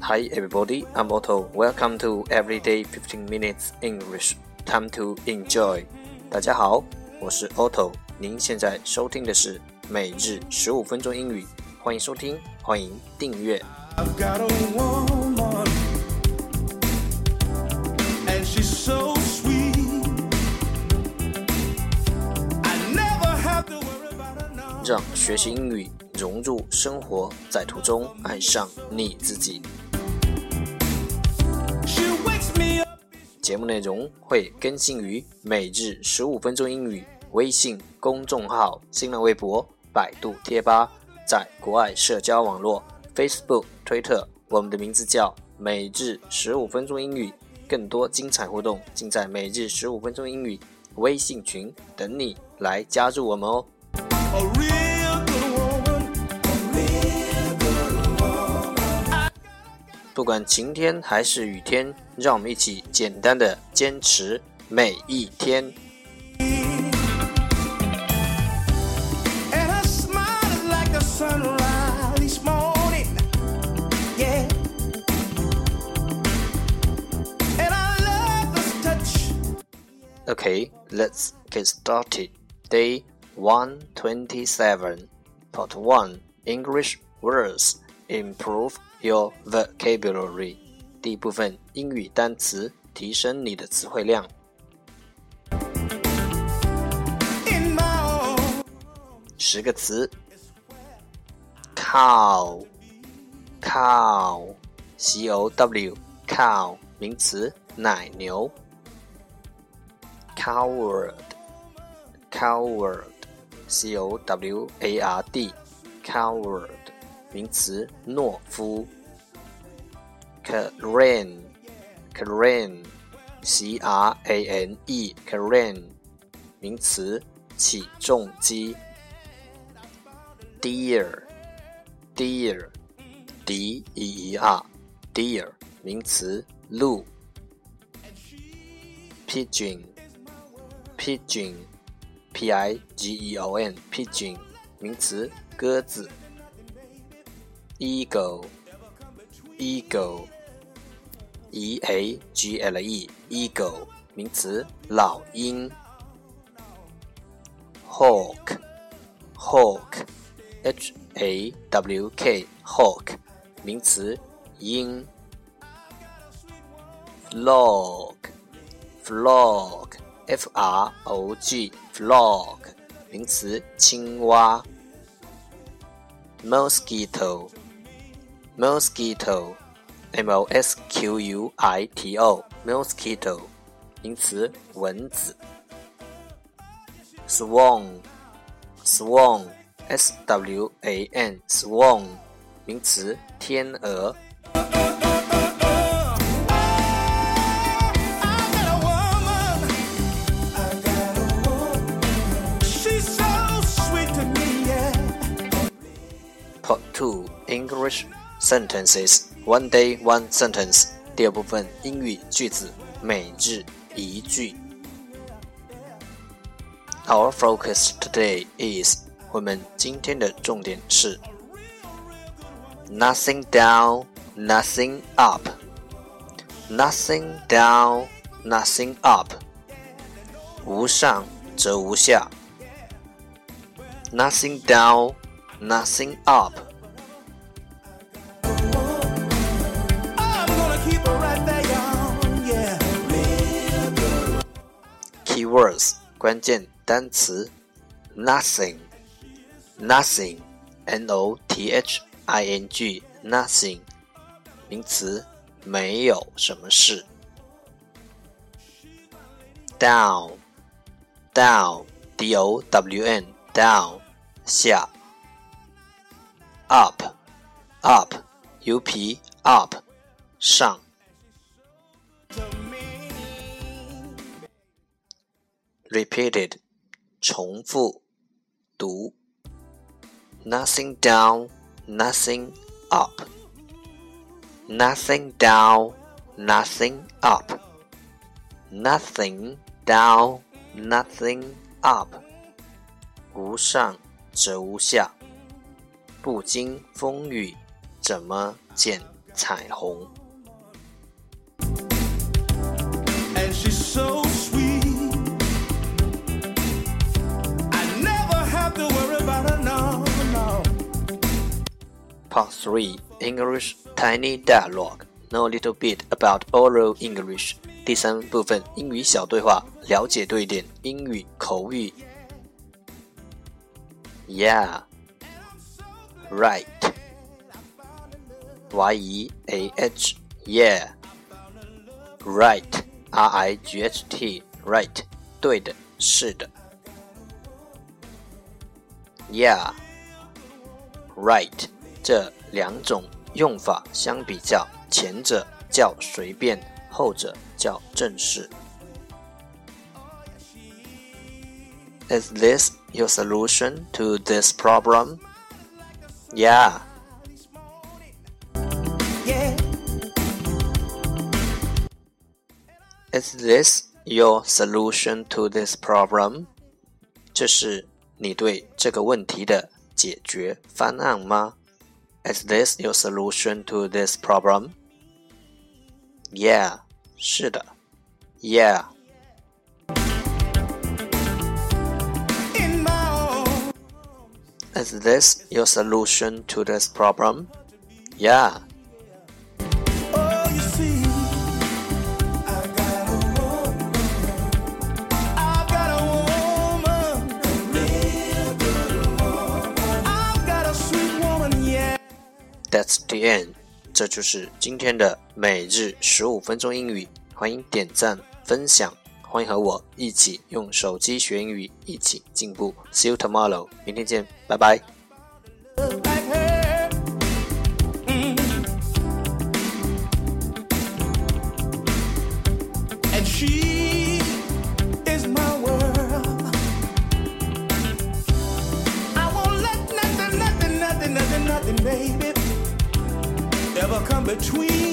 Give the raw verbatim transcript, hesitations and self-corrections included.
Hi everybody, I'm Otto. Welcome to Everyday fifteen minutes English. Time to enjoy. 大家好，我是 Otto。您现在收听的是每日十五分钟英语，欢迎收听，欢迎订阅。I've got a woman, and she's so sweet. I never have to worry about her now. 让学习英语融入生活，在途中爱上你自己。节目内容会更新于每日十五分钟英语微信公众号、新浪微博、百度贴吧，在国外社交网络 Facebook、推特，我们的名字叫每日十五分钟英语。更多精彩互动尽在每日十五分钟英语微信群等你来加入我们哦。不管晴天还是雨天，让我们一起简单的坚持每一天。Okay, let's get started. Day one twenty-seven, Part one, English words. Improve your vocabulary. 第一部分英语单词，提升你的词汇量。十个词 Cow Cow C O W Cow 名词，奶牛。Coward Coward C O W A R D Coward名词，懦夫。Crane Crane C R A N E Crane 名词，起重机。Deer Deer D E E R Deer 名词，鹿。Pigeon Pigeon P I G E O N Pigeon 名词，鸽子。Eagle Eagle E A G L E Eagle 名词，老鹰。Hawk Hawk H A W K Hawk 名词，鹰。Frog Frog F R O G Frog 名词，青蛙。Mosquito Mosquito M O S Q U I T O Mosquito 名词，蚊子。Swan Swan S W A N Swan 名词，天鹅。Part two, English sentences. One day, one sentence. 第二部分英语句子，每日一句。Our focus today is 我们今天的重点是 Nothing down, nothing up. Nothing down, nothing up. 无上则无下。Nothing down, nothing up. Keywords 关键单词 Nothing Nothing N O T H I N G Nothing 名词，没有什么事。Down Down D O W N Down 下。Up Up U P Up 上。Repeated 重复读。Nothing down, nothing up. Nothing down, nothing up. Nothing down, nothing up. 无上则无下，不经风雨怎么减彩虹。 And she's so sweet. I never have to worry about her, no, no. Part three, English Tiny Dialogue. Know a little bit about oral English. 第三部分，英语小对话，了解多一点英语口语。Yeah, right. Y E A H, yeah. Right, R I G H T, right. 对的，是的。Yeah, right. 这两种用法相比较，前者较随便，后者较正式。Is this your solution to this problem? Yeah. Yeah. Is this your solution to this problem? 这是你对这个问题的解决方案吗？ Is this your solution to this problem? Yeah. 是的。Yeah. Is this your solution to this problem? Yeah. Oh, you see, I got a woman. I've got a woman, a real good woman. I've got a sweet woman, yeah. That's the end. 这就是今天的每日十五分钟英语。欢迎点赞分享，欢迎和我一起用手机学英语，一起进步。See you tomorrow. 明天见，拜拜。 Like her. Mm. And she is my world. I won't let nothing, nothing, nothing, nothing, nothing, baby, ever come between